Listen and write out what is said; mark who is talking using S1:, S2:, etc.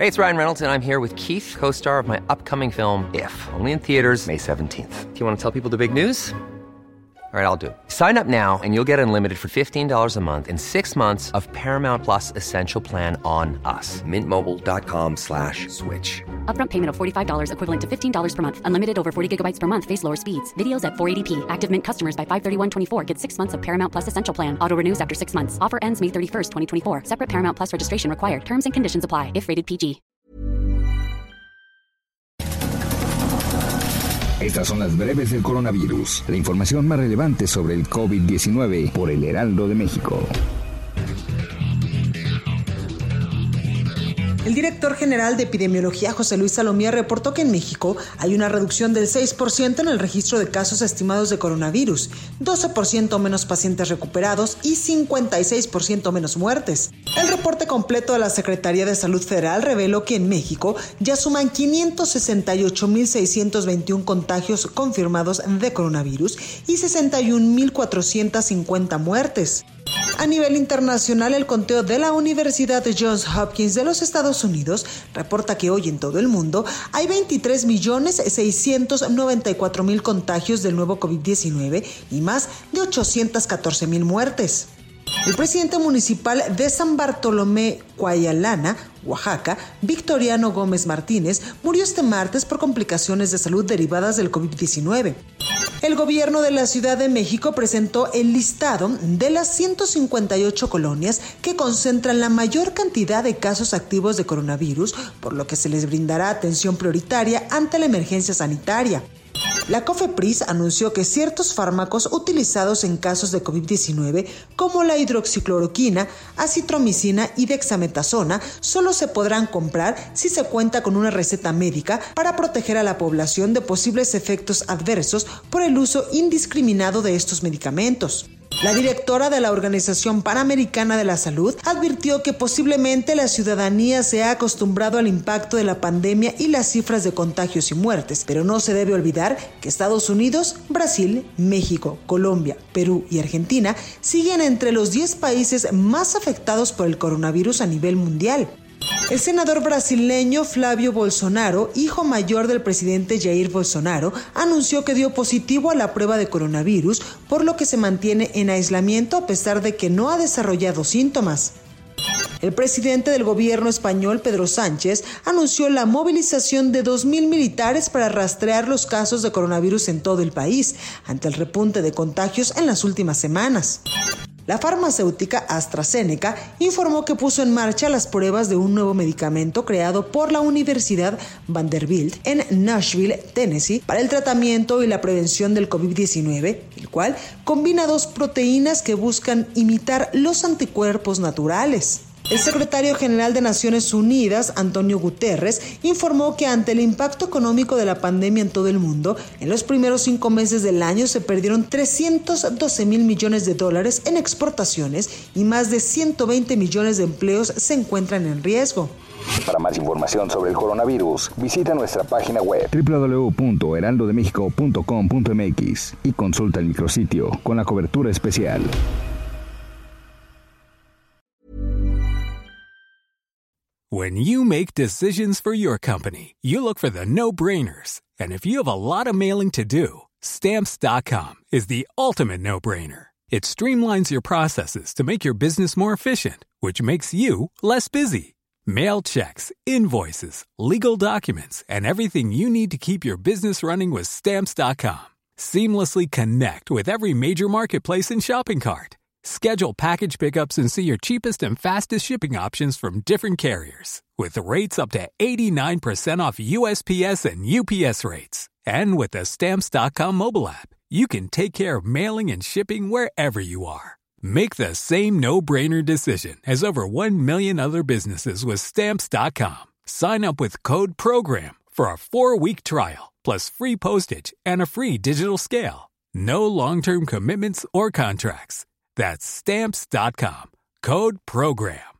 S1: Hey, it's Ryan Reynolds, and I'm here with Keith, co-star of my upcoming film, If, only in theaters May 17th. Do you want to tell people the big news? All right, I'll do it. Sign up now and you'll get unlimited for $15 a month and 6 months of Paramount Plus Essential Plan on us. MintMobile.com/switch.
S2: Upfront payment of $45 equivalent to $15 per month. Unlimited over 40 gigabytes per month. Face lower speeds. Videos at 480p. Active Mint customers by 531.24 get 6 months of Paramount Plus Essential Plan. Auto renews after 6 months. Offer ends May 31st, 2024. Separate Paramount Plus registration required. Terms and conditions apply if rated PG.
S3: Estas son las breves del coronavirus. La información más relevante sobre el COVID-19 por el Heraldo de México.
S4: El director general de epidemiología, José Luis Salomía, reportó que en México hay una reducción del 6% en el registro de casos estimados de coronavirus, 12% menos pacientes recuperados y 56% menos muertes. El reporte completo de la Secretaría de Salud Federal reveló que en México ya suman 568.621 contagios confirmados de coronavirus y 61.450 muertes. A nivel internacional, el conteo de la Universidad Johns Hopkins de los Estados Unidos reporta que hoy en todo el mundo hay 23.694.000 contagios del nuevo COVID-19 y más de 814.000 muertes. El presidente municipal de San Bartolomé, Coayalana, Oaxaca, Victoriano Gómez Martínez, murió este martes por complicaciones de salud derivadas del COVID-19. El gobierno de la Ciudad de México presentó el listado de las 158 colonias que concentran la mayor cantidad de casos activos de coronavirus, por lo que se les brindará atención prioritaria ante la emergencia sanitaria. La COFEPRIS anunció que ciertos fármacos utilizados en casos de COVID-19, como la hidroxicloroquina, acitromicina y dexametasona, solo se podrán comprar si se cuenta con una receta médica para proteger a la población de posibles efectos adversos por el uso indiscriminado de estos medicamentos. La directora de la Organización Panamericana de la Salud advirtió que posiblemente la ciudadanía se ha acostumbrado al impacto de la pandemia y las cifras de contagios y muertes, pero no se debe olvidar que Estados Unidos, Brasil, México, Colombia, Perú y Argentina siguen entre los 10 países más afectados por el coronavirus a nivel mundial. El senador brasileño Flávio Bolsonaro, hijo mayor del presidente Jair Bolsonaro, anunció que dio positivo a la prueba de coronavirus, por lo que se mantiene en aislamiento a pesar de que no ha desarrollado síntomas. El presidente del gobierno español, Pedro Sánchez, anunció la movilización de 2,000 militares para rastrear los casos de coronavirus en todo el país, ante el repunte de contagios en las últimas semanas. La farmacéutica AstraZeneca informó que puso en marcha las pruebas de un nuevo medicamento creado por la Universidad Vanderbilt en Nashville, Tennessee, para el tratamiento y la prevención del COVID-19, el cual combina dos proteínas que buscan imitar los anticuerpos naturales. El secretario general de Naciones Unidas, Antonio Guterres, informó que ante el impacto económico de la pandemia en todo el mundo, en los primeros 5 meses del año se perdieron $312 mil millones en exportaciones y más de 120 millones de empleos se encuentran en riesgo.
S3: Para más información sobre el coronavirus, visita nuestra página web www.heraldodemexico.com.mx y consulta el micrositio con la cobertura especial.
S5: When you make decisions for your company, you look for the no-brainers. And if you have a lot of mailing to do, Stamps.com is the ultimate no-brainer. It streamlines your processes to make your business more efficient, which makes you less busy. Mail checks, invoices, legal documents, and everything you need to keep your business running with Stamps.com. Seamlessly connect with every major marketplace and shopping cart. Schedule package pickups and see your cheapest and fastest shipping options from different carriers, with rates up to 89% off USPS and UPS rates. And with the Stamps.com mobile app, you can take care of mailing and shipping wherever you are. Make the same no-brainer decision as over 1 million other businesses with Stamps.com. Sign up with code PROGRAM for a 4-week trial, plus free postage and a free digital scale. No long-term commitments or contracts. That's Stamps.com. Code PROGRAM.